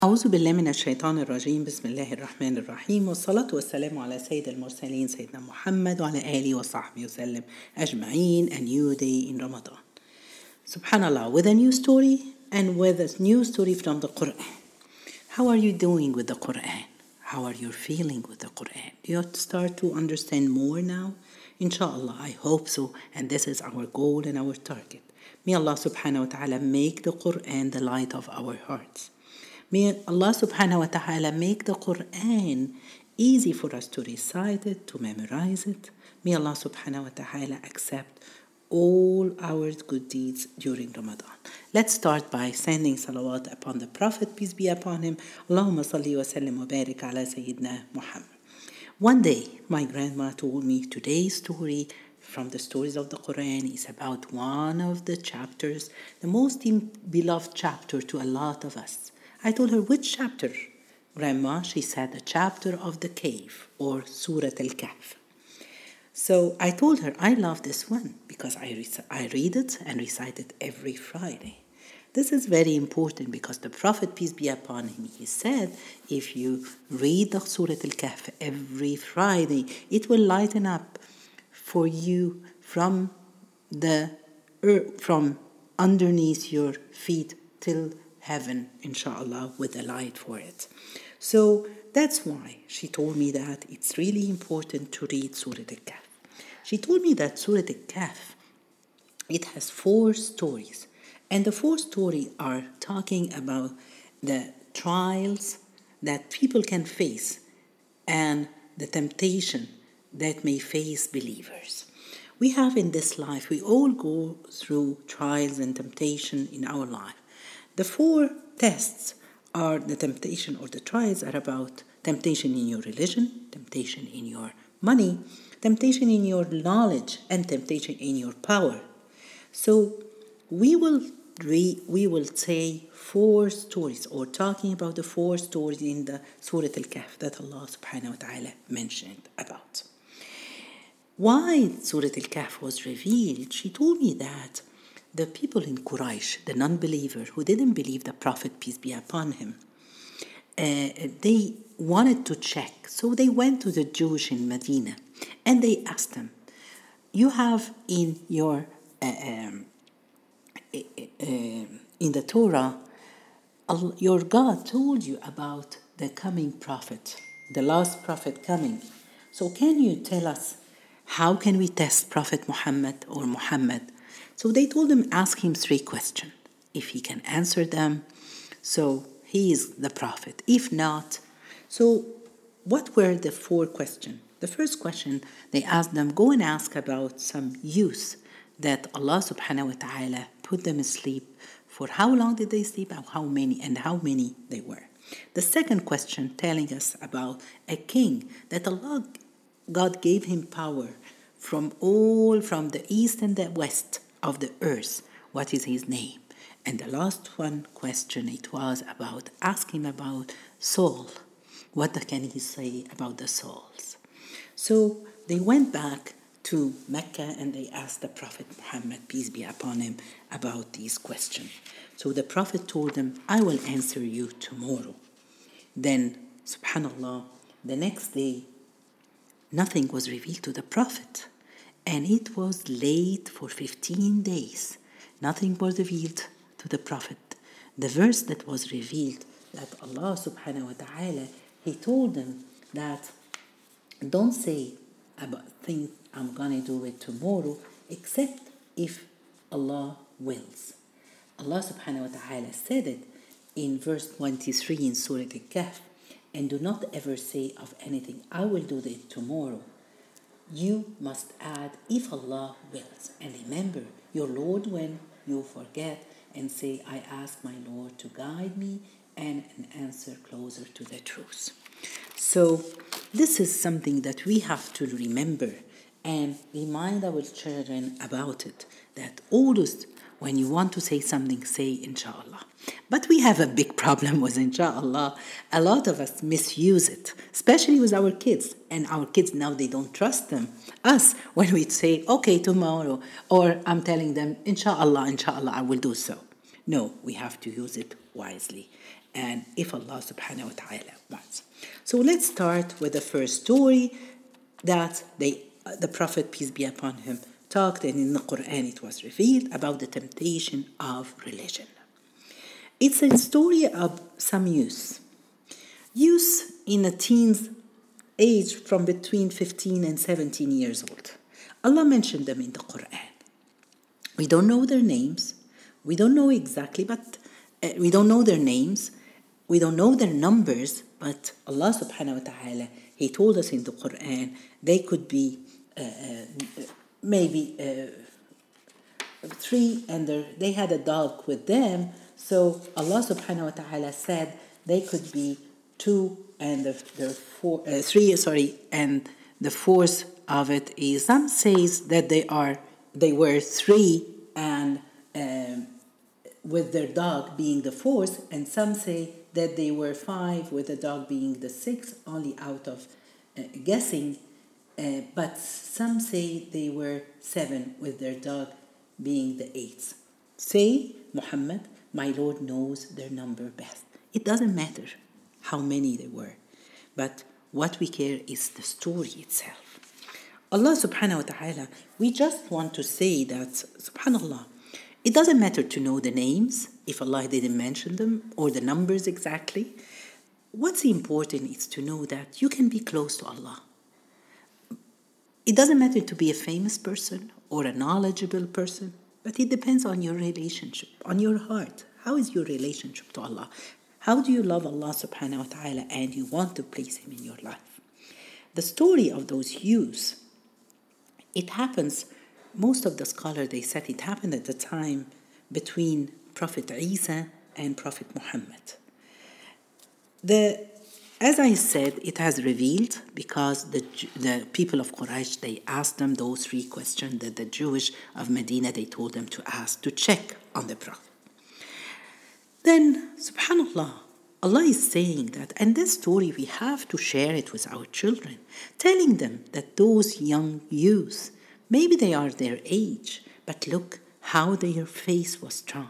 أعوذ بالله من الشيطان الرجيم. بسم الله الرحمن الرحيم، والصلاة والسلام على سيد المرسلين سيدنا محمد وعلى آله وصحبه وسلم أجمعين. A new day in Ramadan. Subhanallah, with a new story and with a new story from the Quran. How are you doing with the Quran? How are you feeling with the Quran? Do you start to understand more now? Inshallah, I hope so, and this is our goal and our target. May Allah subhanahu wa ta'ala make the Quran the light of our hearts. May Allah subhanahu wa ta'ala make the Quran easy for us to recite it, to memorize it. May Allah subhanahu wa ta'ala accept all our good deeds during Ramadan. Let's start by sending salawat upon the Prophet, peace be upon him. Allahumma salli wa sallim wa barik ala Sayyidina Muhammad. One day, my grandma told me today's story from the stories of the Quran is about one of the chapters, the most beloved chapter to a lot of us. I told her, which chapter? Grandma, she said, the chapter of the cave, or Surah Al-Kahf. So I told her, I love this one because I read it and recite it every Friday. This is very important because the Prophet, peace be upon him, he said, if you read the Surah Al-Kahf every Friday, it will lighten up for you from underneath your feet till heaven, inshallah, with a light for it. So that's why she told me that it's really important to read Surah Al-Kahf. She told me that Surah Al-Kahf, it has 4 stories. And the 4 stories are talking about the trials that people can face and the temptation that may face believers. We have in this life, we all go through trials and temptation in our life. The 4 tests are the temptation or the trials are about temptation in your religion, temptation in your money, temptation in your knowledge, and temptation in your power. So we will say 4 stories, or talking about the 4 stories in the Surah Al-Kahf that Allah subhanahu wa ta'ala mentioned about. Why Surah Al-Kahf was revealed, she told me that the people in Quraysh, the non-believer who didn't believe the Prophet, peace be upon him, they wanted to check. So they went to the Jews in Medina and they asked them, you have in your in the Torah, your God told you about the coming prophet, the last prophet coming. So can you tell us, how can we test Prophet Muhammad or Muhammad? So they told him, ask him 3 questions. If he can answer them, so he is the prophet. If not, so what were the 4 questions? The first question, they asked them, go and ask about some youth that Allah subhanahu wa ta'ala put them asleep. For how long did they sleep, and how many they were. The second question telling us about a king that God gave him power from the east and the west of the earth. What is his name? And the last one question, it was about asking about soul. What can he say about the souls? So they went back to Mecca and they asked the Prophet Muhammad, peace be upon him, about these questions. So the Prophet told them, I will answer you tomorrow. Then, subhanallah, the next day, nothing was revealed to the Prophet. And it was late for 15 days. Nothing was revealed to the Prophet. The verse that was revealed, that Allah subhanahu wa ta'ala, he told them that don't say about things I'm going to do it tomorrow, except if Allah wills. Allah subhanahu wa ta'ala said it in verse 23 in Surah Al-Kahf, and do not ever say of anything, I will do it tomorrow. You must add, if Allah wills. And remember your Lord when you forget, and say, I ask my Lord to guide me and an answer closer to the truth. So this is something that we have to remember and remind our children about it, that always when you want to say something, say inshallah. But we have a big problem with inshallah. A lot of us misuse it, especially with our kids. And our kids now, they don't trust us when we say, okay, tomorrow, or I'm telling them, inshallah, I will do so. No, we have to use it wisely. and if Allah subhanahu wa ta'ala wants. So let's start with the first story that the Prophet, peace be upon him, talked, and in the Quran it was revealed about the temptation of religion. It's a story of some youth in a teen's age from between 15 and 17 years old. Allah mentioned them in the Quran. We don't know their names. We don't know exactly, but we don't know their names. We don't know their numbers, but Allah subhanahu wa ta'ala, He told us in the Quran, they could be maybe 3, and they had a dog with them. So Allah subhanahu wa ta'ala said they could be 2 and the 3, and the fourth of it is, some says that they were 3 and with their dog being the fourth, and some say that they were 5 with the dog being the sixth, only out of guessing, but some say they were 7 with their dog being the 8th. Say, Muhammad, my Lord knows their number best. It doesn't matter how many they were, but what we care is the story itself. Allah subhanahu wa ta'ala, we just want to say that, subhanallah, it doesn't matter to know the names if Allah didn't mention them, or the numbers exactly. What's important is to know that you can be close to Allah. It doesn't matter to be a famous person or a knowledgeable person, but it depends on your relationship, on your heart. How is your relationship to Allah? How do you love Allah subhanahu wa ta'ala and you want to place Him in your life? The story of those youths, it happens, most of the scholars, they said it happened at the time between Prophet Isa and Prophet Muhammad. As I said, it has revealed because the people of Quraysh, they asked them those 3 questions that the Jewish of Medina, they told them to ask, to check on the Prophet. Then, subhanallah, Allah is saying that, and this story we have to share it with our children, telling them that those young youths, maybe they are their age, but look how their faith was strong.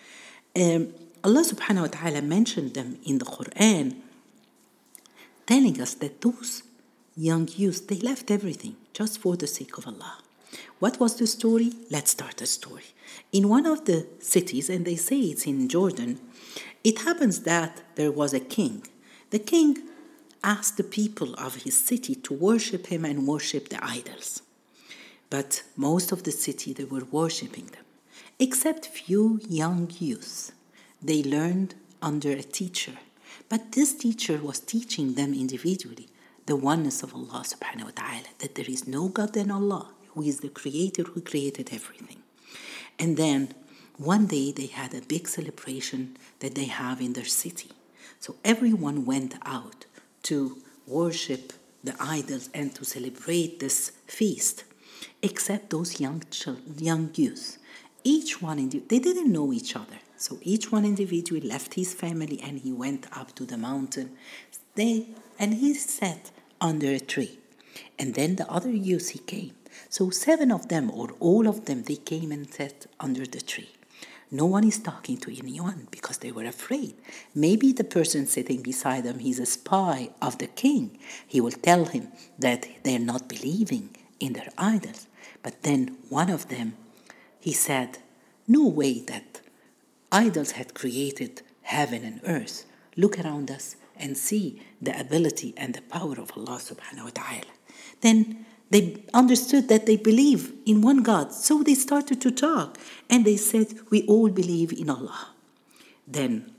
Allah subhanahu wa ta'ala mentioned them in the Quran, telling us that those young youths, they left everything just for the sake of Allah. What was the story? Let's start the story. In one of the cities, and they say it's in Jordan, it happens that there was a king. The king asked the people of his city to worship him and worship the idols. But most of the city, they were worshiping them, except few young youths. They learned under a teacher, but this teacher was teaching them individually the oneness of Allah subhanahu wa ta'ala, that there is no God than Allah, who is the creator, who created everything. And then one day they had a big celebration that they have in their city. So everyone went out to worship the idols and to celebrate this feast, except those young youths. Each one, they didn't know each other. So each one individually left his family and he went up to the mountain. And he sat under a tree. And then the other youths, he came. So 7 of them, or all of them, they came and sat under the tree. No one is talking to anyone because they were afraid. Maybe the person sitting beside them, he's a spy of the king. He will tell him that they're not believing in their idols. But then one of them, he said, no way that idols had created heaven and earth. Look around us and see the ability and the power of Allah subhanahu wa ta'ala. Then they understood that they believe in one God. So they started to talk and they said, we all believe in Allah. Then,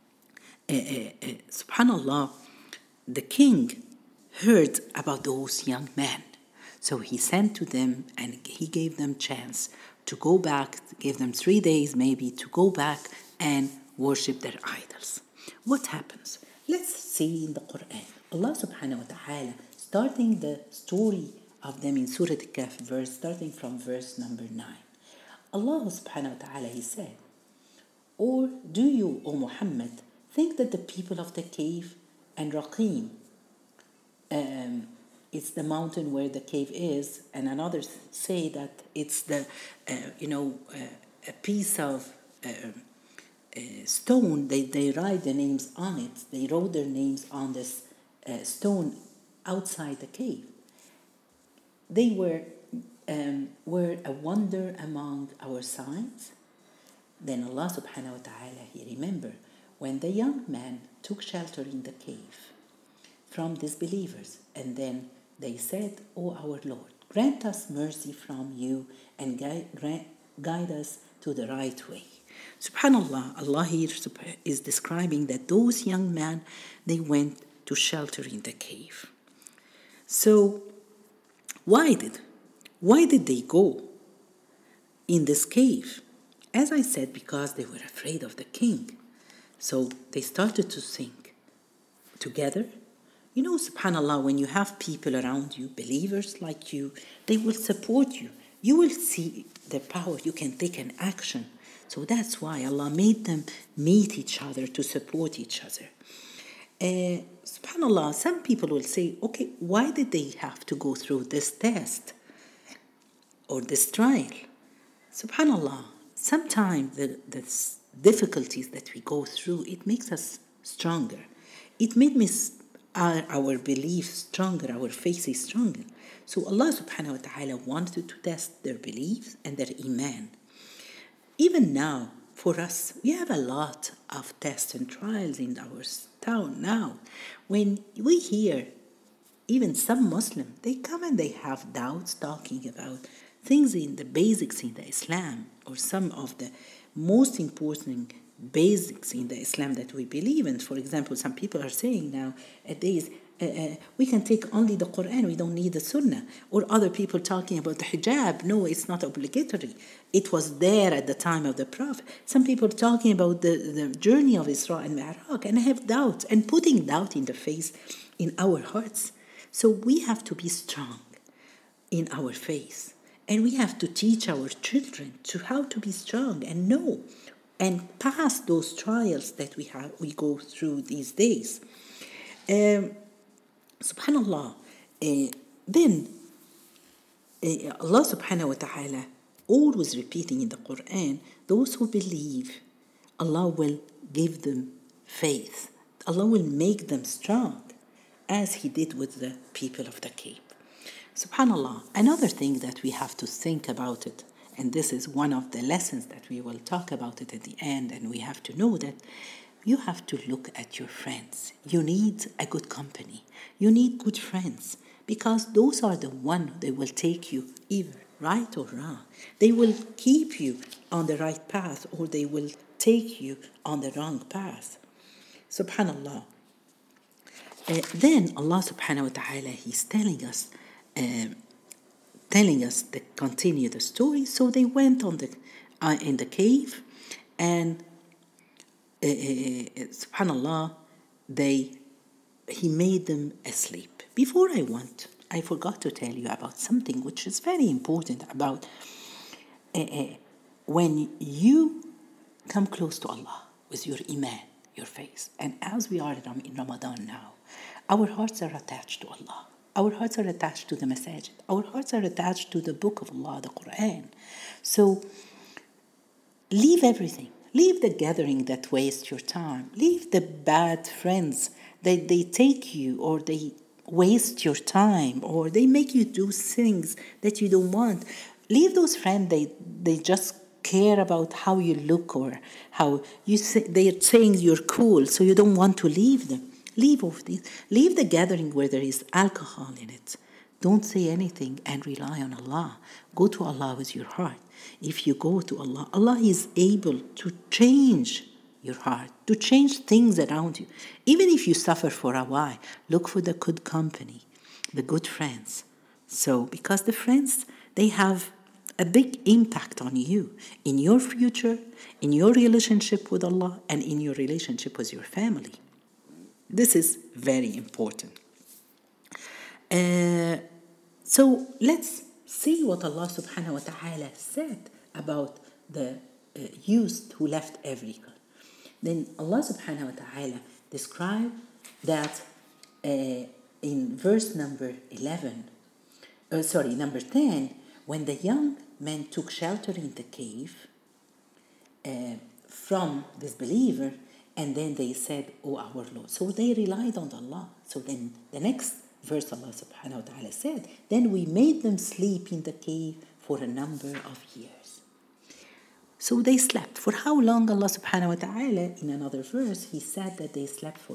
subhanallah, the king heard about those young men. So he sent to them and he gave them chance to go back, gave them 3 days maybe to go back and worship their idols. What happens? Let's see in the Quran. Allah subhanahu wa ta'ala, starting the story of them in Surah Al-Kahf, starting from verse number 9. Allah subhanahu wa ta'ala, He said, or do you, O Muhammad, think that the people of the cave and Raqim, it's the mountain where the cave is, and another say that it's the, a piece of stone, they write their names on it. They wrote their names on this stone outside the cave. They were a wonder among our sights. Then Allah subhanahu wa ta'ala, He remembered when the young man took shelter in the cave from disbelievers, and then they said, "O our Lord, grant us mercy from you and guide us to the right way." Subhanallah, Allah here is describing that those young men, they went to shelter in the cave. So why did they go in this cave? As I said, because they were afraid of the king. So they started to think together. You know, subhanallah, when you have people around you, believers like you, they will support you. You will see the power. You can take an action. So that's why Allah made them meet each other to support each other. Subhanallah, some people will say, okay, why did they have to go through this test or this trial? Subhanallah, sometimes the difficulties that we go through, it makes us stronger. It made our belief stronger, our faith is stronger. So Allah subhanahu wa ta'ala wanted to test their beliefs and their iman. Even now, for us, we have a lot of tests and trials in our town now. When we hear even some Muslims, they come and they have doubts talking about things in the basics in the Islam, or some of the most important basics in the Islam that we believe in. For example, some people are saying nowadays, we can take only the Quran, we don't need the Sunnah. Or other people talking about the hijab. No, it's not obligatory. It was there at the time of the Prophet. Some people talking about the journey of Isra and Mi'raj, and have doubts and putting doubt in the face in our hearts. So we have to be strong in our faith. And we have to teach our children to how to be strong and know and pass those trials that we go through these days. Subhanallah. Then Allah subhanahu wa ta'ala always repeating in the Quran, those who believe, Allah will give them faith. Allah will make them strong, as He did with the people of the cave. Subhanallah, another thing that we have to think about it, and this is one of the lessons that we will talk about it at the end, and we have to know that you have to look at your friends. You need a good company. You need good friends, because those are the ones that will take you either right or wrong. They will keep you on the right path, or they will take you on the wrong path. Subhanallah. Then Allah subhanahu wa ta'ala, He's telling us to continue the story. So they went on in the cave, and subhanallah, He made them asleep. Before I forgot to tell you about something which is very important about when you come close to Allah with your iman, your faith. And as we are in Ramadan now, our hearts are attached to Allah. Our hearts are attached to the masajid. Our hearts are attached to the book of Allah, the Quran. So leave everything. Leave the gathering that wastes your time. Leave the bad friends that they take you, or they waste your time, or they make you do things that you don't want. Leave those friends. They just care about how you look, or how you say, they're saying you're cool, so you don't want to leave them. Leave off these. Leave the gathering where there is alcohol in it. Don't say anything and rely on Allah. Go to Allah with your heart. If you go to Allah, Allah is able to change your heart, to change things around you. Even if you suffer for a while, look for the good company, the good friends. So, because the friends, they have a big impact on you, in your future, in your relationship with Allah, and in your relationship with your family. This is very important. So let's see what Allah subhanahu wa ta'ala said about the youth who left everything. Then Allah subhanahu wa ta'ala described that in verse number 10, when the young men took shelter in the cave from this believer, and then they said, "Oh, our Lord." So they relied on Allah. So then the next verse, Allah subhanahu wa ta'ala said, "Then we made them sleep in the cave for a number of years." So they slept. For how long? Allah subhanahu wa ta'ala, in another verse, He said that they slept for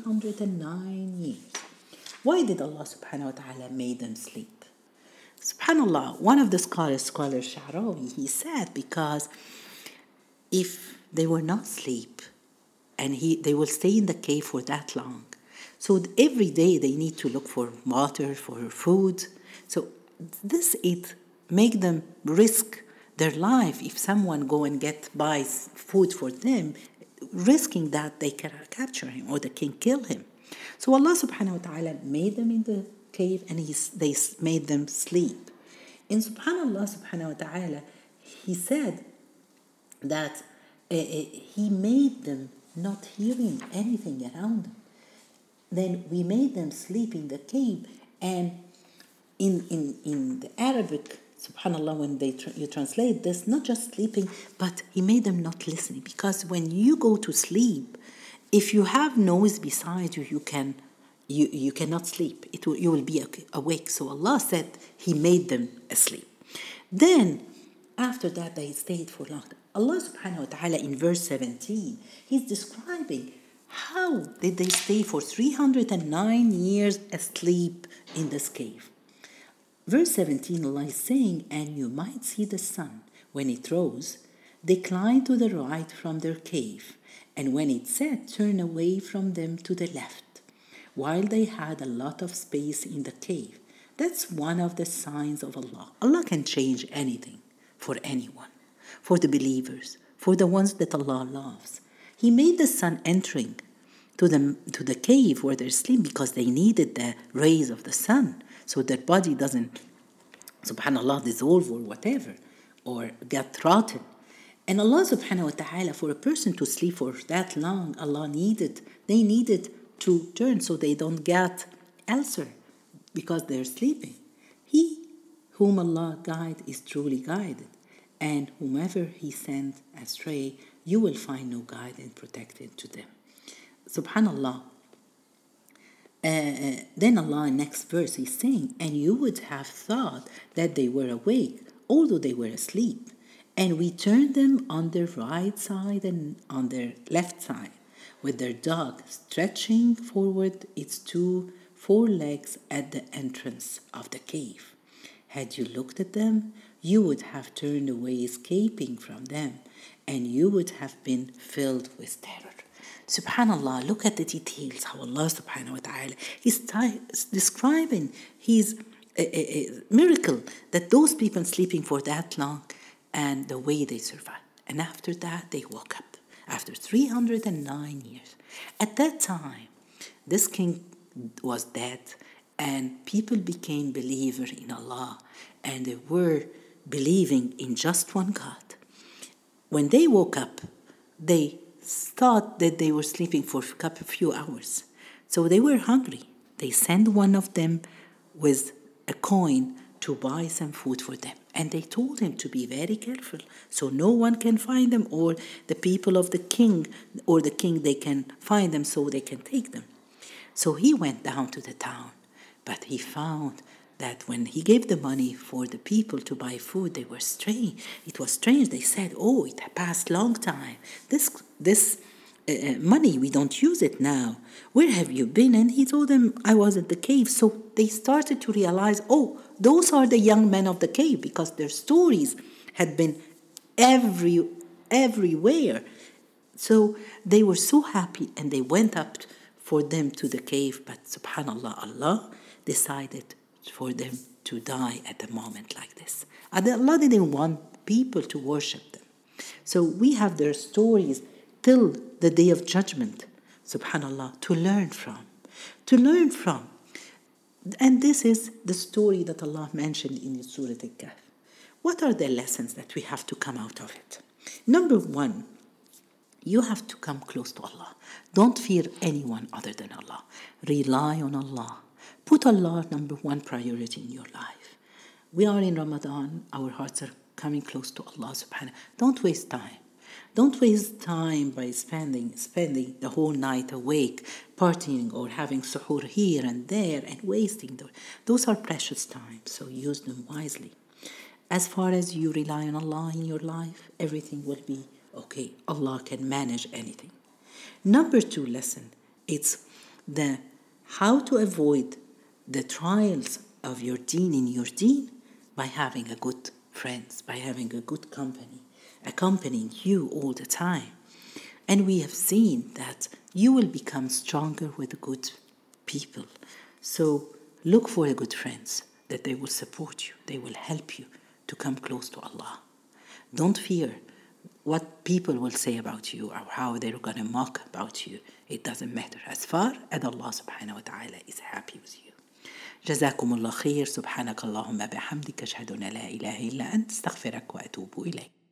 309 years. Why did Allah subhanahu wa ta'ala make them sleep? SubhanAllah, one of the scholars, Scholar Sha'rawi, he said because if they were not asleep and they will stay in the cave for that long, so every day they need to look for water, for food. So it make them risk their life. If someone go and buys food for them, risking that they can capture him or they can kill him. So Allah subhanahu wa ta'ala made them in the cave and they made them sleep. And subhanallah subhanahu wa ta'ala, He said that He made them not hearing anything around them. Then we made them sleep in the cave. And in the Arabic, subhanallah, when you translate this, not just sleeping, but He made them not listening. Because when you go to sleep, if you have noise beside you, you cannot sleep. You will be awake. So Allah said He made them asleep. Then, after that, they stayed for long. Allah subhanahu wa ta'ala in verse 17, He's describing how did they stay for 309 years asleep in this cave. Verse 17, Allah is saying, "And you might see the sun when it rose, decline to the right from their cave, and when it set, turn away from them to the left, while they had a lot of space in the cave." That's one of the signs of Allah. Allah can change anything for anyone, for the believers, for the ones that Allah loves. He made the sun entering to the cave where they're sleeping because they needed the rays of the sun, so their body doesn't, subhanallah, dissolve or whatever, or get rotten. And Allah subhanahu wa ta'ala, for a person to sleep for that long, they needed to turn so they don't get ulcer because they're sleeping. He whom Allah guide is truly guided, and whomever He sent astray, you will find no guidance protected to them. Subhanallah. Then Allah, next verse, is saying, "And you would have thought that they were awake, although they were asleep. And we turned them on their right side and on their left side, with their dog stretching forward its 2 forelegs at the entrance of the cave. Had you looked at them, you would have turned away, escaping from them, and you would have been filled with terror." Subhanallah, look at the details, how Allah subhanahu wa ta'ala is describing His miracle, that those people sleeping for that long and the way they survived. And after that, they woke up after 309 years. At that time, this king was dead and people became believers in Allah and they were believing in just one God. When they woke up, they thought that they were sleeping for a few hours. So they were hungry. They sent one of them with a coin to buy some food for them. And they told him to be very careful so no one can find them, or the people of the king or the king, they can find them so they can take them. So he went down to the town, but he found that when he gave the money for the people to buy food, they were strange. It was strange. They said, "Oh, it passed long time. This money, we don't use it now. Where have you been?" And he told them, "I was at the cave." So they started to realize, oh, those are the young men of the cave, because their stories had been everywhere. So they were so happy and they went up for them to the cave. But subhanallah, Allah decided for them to die at a moment like this. And Allah didn't want people to worship them. So we have their stories till the day of judgment, subhanallah, to learn from. And this is the story that Allah mentioned in Surah Al-Kahf. What are the lessons that we have to come out of it? Number one, you have to come close to Allah. Don't fear anyone other than Allah. Rely on Allah. Put Allah number one priority in your life. We are in Ramadan. Our hearts are coming close to Allah subhanahu. Don't waste time. Don't waste time by spending the whole night awake, partying or having suhoor here and there and wasting them. Those are precious times, so use them wisely. As far as you rely on Allah in your life, everything will be okay. Allah can manage anything. Number 2 lesson, it's the how to avoid the trials of your deen in your deen by having a good friends, by having a good company, accompanying you all the time. And we have seen that you will become stronger with good people. So look for the good friends, that they will support you, they will help you to come close to Allah. Don't fear what people will say about you or how they're going to mock about you. It doesn't matter as far as Allah subhanahu wa ta'ala is happy with you. جزاكم الله خير. سبحانك اللهم بحمدك أشهد أن لا إله إلا أنت استغفرك وأتوب إليك.